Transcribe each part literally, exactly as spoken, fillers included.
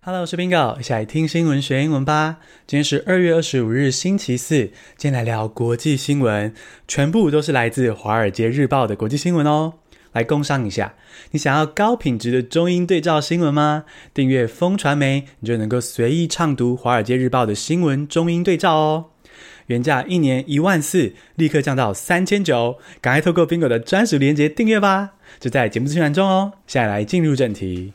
Hello， 我是 Bingo， 一起來聽新聞學英文吧。今天是二月二十五日，星期四。今天來聊國際新聞，全部都是來自《華爾街日報》的國際新聞哦。來工商一下，你想要高品質的中英對照新聞嗎？訂閱風傳媒，你就能夠隨意暢讀《華爾街日報》的新聞中英對照哦。原價一年一萬四，立刻降到三千九，趕快透過 Bingo 的專屬連結訂閱吧，就在節目資訊欄中哦。現在來進入正題。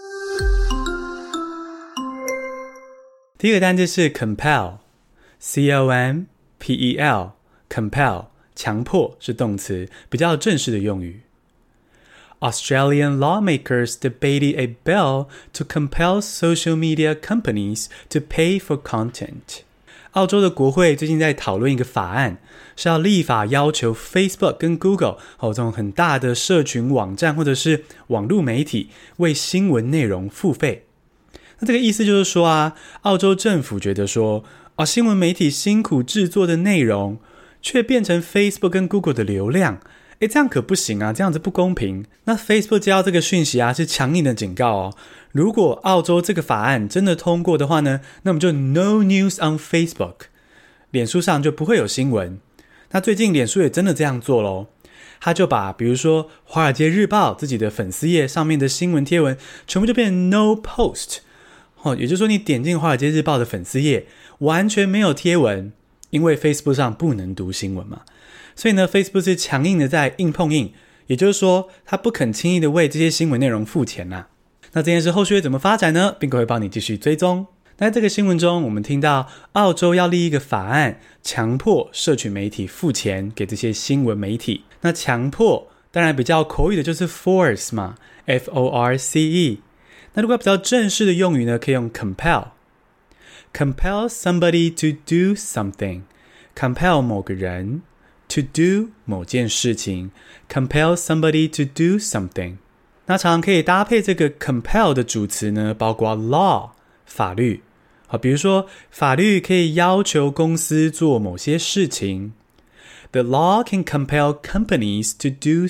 第一個單字是 compel， C O M P E L， compel， 強迫是動詞，比較正式的用語。Australian lawmakers debated a bill to compel social media companies to pay for content. 澳洲的國會最近在討論一個法案，是要立法要求 Facebook 跟 Google 還有這種很大的社群網站或者是網絡媒體為新聞內容付費。那這個意思就是說啊，澳洲政府覺得說，哦，新聞媒體辛苦制作的內容，卻變成 Facebook 跟 Google 的流量，誒，這樣可不行啊，這樣子不公平。那 Facebook 接到這個訊息啊，是強硬的警告哦，如果澳洲這個法案真的通過的話呢，那麼就 No news on Facebook， 臉書上就不會有新聞。那最近臉書也真的這樣做咯，他就把比如說《華爾街日報》自己的粉絲頁上面的新聞貼文，全部就變成 No post。哦，也就是說，你點進《華爾街日報》的粉絲頁，完全沒有貼文，因為 Facebook 上不能讀新聞嘛。所以呢 ，Facebook 是強硬的在硬碰硬，也就是說，他不肯輕易的為這些新聞內容付錢吶。那這件事後續會怎麼發展呢？Bingo會幫你繼續追蹤。那在這個新聞中，我們聽到澳洲要立一個法案，強迫社群媒體付錢給這些新聞媒體。那強迫當然比較口語的就是 force 嘛 ，F O R C E。那如果比較正式的用語呢，可以用 compel。compel somebody to do something， compel 某個人 to do 某件事情 compel somebody to do something。那常常可以搭配這個 compel 的主詞呢，包括 law 法律。好，比如說法律可以要求公司做某些事情。The law can compel companies to do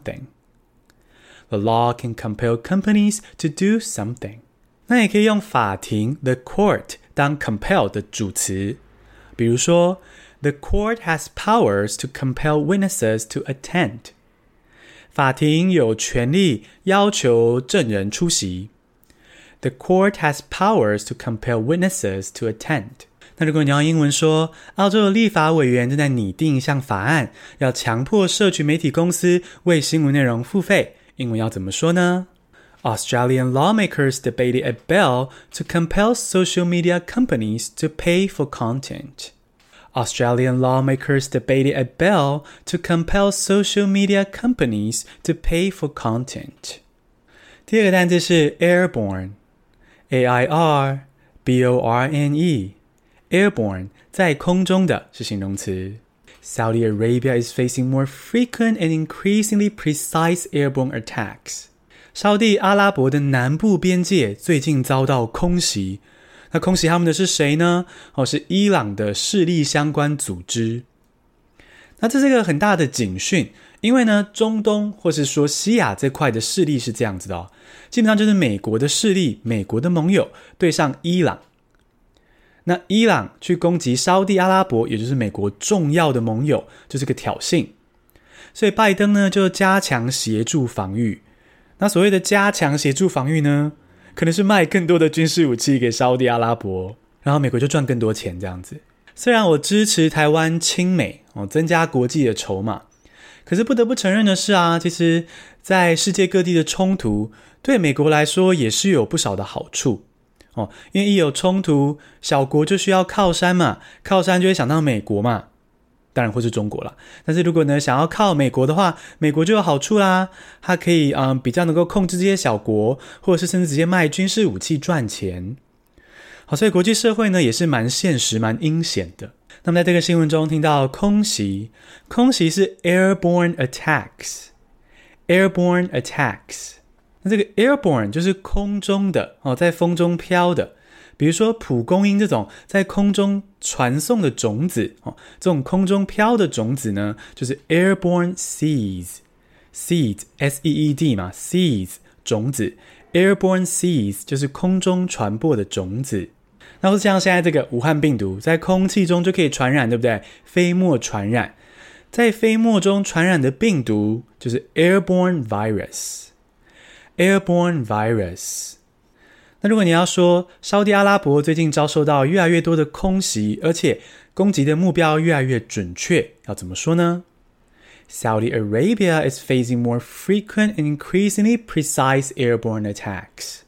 something。The law can compel companies to do something。 那也可以用法庭 the court 當 compel 的主詞，比如說 The court has powers to compel witnesses to attend。 法庭有權利要求證人出席。 The court has powers to compel witnesses to attend。 那如果你要英文說，澳洲的立法委員正在擬定一項法案，要強迫社群媒體公司為新聞內容付費，英文要怎麼說呢？ Australian lawmakers debated a bill to compel social media companies to pay for content. Australian lawmakers debated a bill to compel social media companies to pay for content. 第二個單字是 airborne， A I R B O R N E。 Airborne 在空中的是形容詞。Saudi Arabia is facing more frequent and increasingly precise airborne attacks. 沙地阿拉伯的南部邊界最近遭到空襲。那空襲他們的是誰呢？哦，是伊朗的勢力相關組織。那這是一個很大的警訊，因為呢，中東或是說西亞這塊的勢力是這樣子的哦，基本上就是美國的勢力，美國的盟友對上伊朗。那伊朗去攻擊沙地阿拉伯，也就是美國重要的盟友，就是個挑釁。所以拜登呢就加強協助防禦。那所謂的加強協助防禦呢，可能是賣更多的軍事武器給沙地阿拉伯，然後美國就賺更多錢這樣子。雖然我支持台灣親美，哦，增加國際的籌碼，可是不得不承認的是啊，其實在世界各地的衝突，對美國來說也是有不少的好處。哦，因為一有衝突，小國就需要靠山嘛，靠山就會想到美國嘛，當然或是中國啦。但是如果呢想要靠美國的話，美國就有好處啦，它可以嗯比較能夠控制這些小國，或者是甚至直接賣軍事武器賺錢。好，所以國際社會呢也是蠻現實、蠻陰險的。那麼在這個新聞中聽到空襲，空襲是 airborne attacks，airborne attacks。那這個 airborne 就是空中的哦，在風中飄的，比如說蒲公英這種在空中傳送的種子哦，這種空中飄的種子呢，就是 airborne seeds，seeds S E E D 嘛 ，seeds 種子 airborne seeds 就是空中傳播的種子。那或是像現在這個武漢病毒，在空氣中就可以傳染，對不對？飛沫傳染，在飛沫中傳染的病毒就是 airborne virus。airborne virus。那如果你要說沙特阿拉伯最近遭受到越來越多的空襲，而且攻擊的目標越來越準確，要怎麼說呢？ Saudi Arabia is facing more frequent and increasingly precise airborne attacks.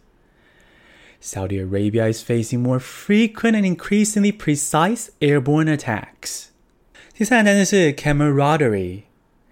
Saudi Arabia is facing more frequent and increasingly precise airborne attacks. 第三個單詞是 camaraderie.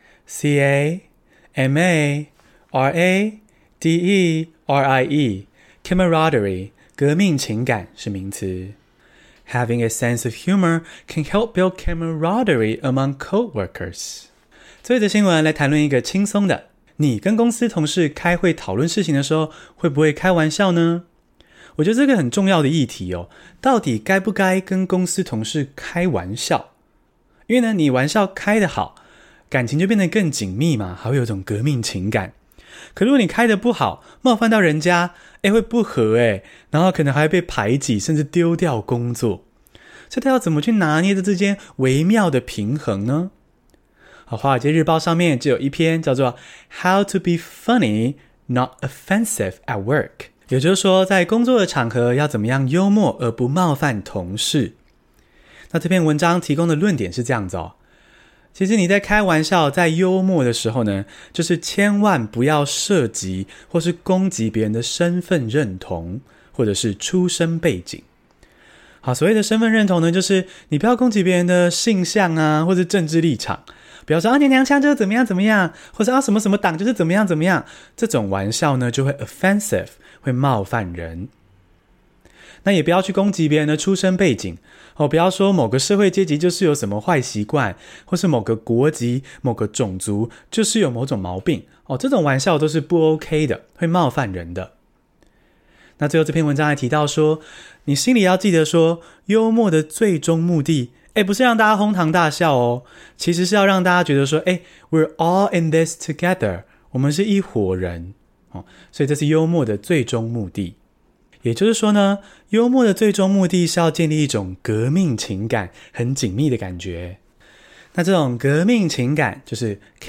C A M A R A D E R I E.Camaraderie 革命情感是名詞。Having a sense of humor can help build camaraderie among coworkers. 最後的新聞來談論一個輕鬆的，你跟公司同事開會討論事情的時候，會不會開玩笑呢？我覺得這個很重要的議題哦，到底該不該跟公司同事開玩笑？因為呢，你玩笑開得好，感情就變得更緊密嘛，還會有一種革命情感。可如果你開得不好，冒犯到人家，誒會不和誒，然後可能還會被排擠，甚至丟掉工作。所以他要怎麼去拿捏這之間微妙的平衡呢？好，華爾街日報上面就有一篇叫做 How to be funny, not offensive at work。也就是說，在工作的場合要怎麼樣幽默而不冒犯同事。那這篇文章提供的論點是這樣子哦。其實你在開玩笑在幽默的時候呢，就是千萬不要涉及或是攻擊別人的身份認同或者是出身背景。好，所謂的身份認同呢，就是你不要攻擊別人的性向啊，或是政治立場，不要說啊你娘腔就是怎麼樣怎麼樣，或者啊什麼什麼黨就是怎麼樣怎麼樣，這種玩笑呢就會 offensive， 會冒犯人。那也不要去攻擊別人的出身背景哦，不要說某個社會階級就是有什麼壞習慣，或是某個國籍、某個種族就是有某種毛病哦，這種玩笑都是不 OK 的，會冒犯人的。那最後這篇文章還提到說，你心裡要記得說，幽默的最終目的，誒，不是讓大家哄堂大笑哦，其實是要讓大家覺得說，誒 we're all in this together， 我們是一夥人哦，所以這是幽默的最終目的。也就是說呢，幽默的最終目的是要建立一種革命情感，很緊密的感覺。那這種革命情感就是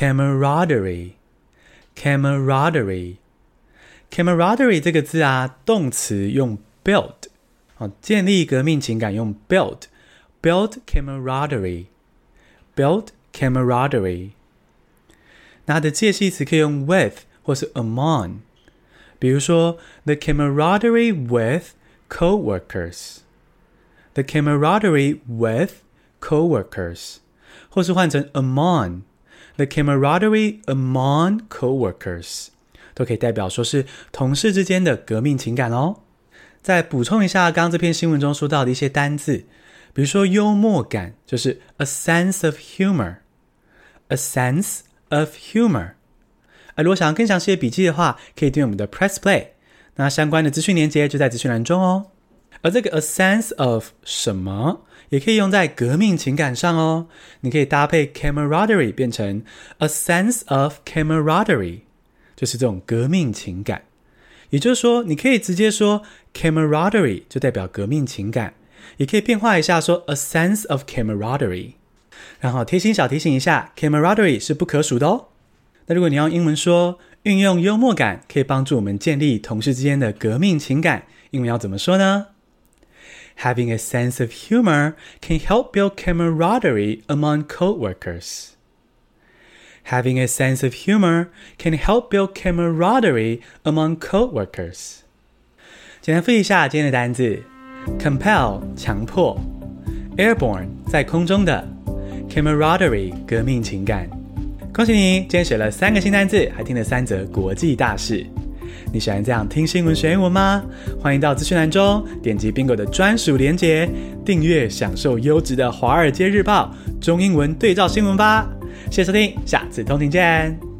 camaraderie。camaraderie。camaraderie 這個字啊，動詞用 build， 建立革命情感用 build。build camaraderie。build camaraderie。那它的介系詞可以用 with 或是 among。比如說 the camaraderie with coworkers， the camaraderie with coworkers， 或是換成 among， the camaraderie among coworkers， 都可以代表說是同事之間的革命情感哦。再補充一下剛剛這篇新聞中說到的一些單字，比如說幽默感就是 a sense of humor， a sense of humor。如果想要更詳細的筆記的話，可以訂閱我們的 Press Play， 那相關的資訊連結就在資訊欄中哦。而這個 a sense of 什麼也可以用在革命情感上哦，你可以搭配 camaraderie 變成 a sense of camaraderie， 就是這種革命情感。也就是說，你可以直接說 camaraderie 就代表革命情感，也可以變化一下說 a sense of camaraderie。然後貼心小提醒一下， camaraderie 是不可數的哦。那如果你要用英文說，運用幽默感可以幫助我們建立同事之間的革命情感，英文要怎麼說呢？ Having a sense of humor can help build camaraderie among coworkers. Having a sense of humor can help build camaraderie among coworkers. 簡單複習一下今天的單字 compel 強迫 airborne 在空中的 camaraderie 革命情感。恭喜你，今天學了三個新單字，還聽了三則國際大事。你喜歡這樣聽新聞學英文嗎？歡迎到資訊欄中點擊 Bingo 的專屬連結，訂閱享受優質的華爾街日報中英文對照新聞吧。謝謝收聽，下次通勤見。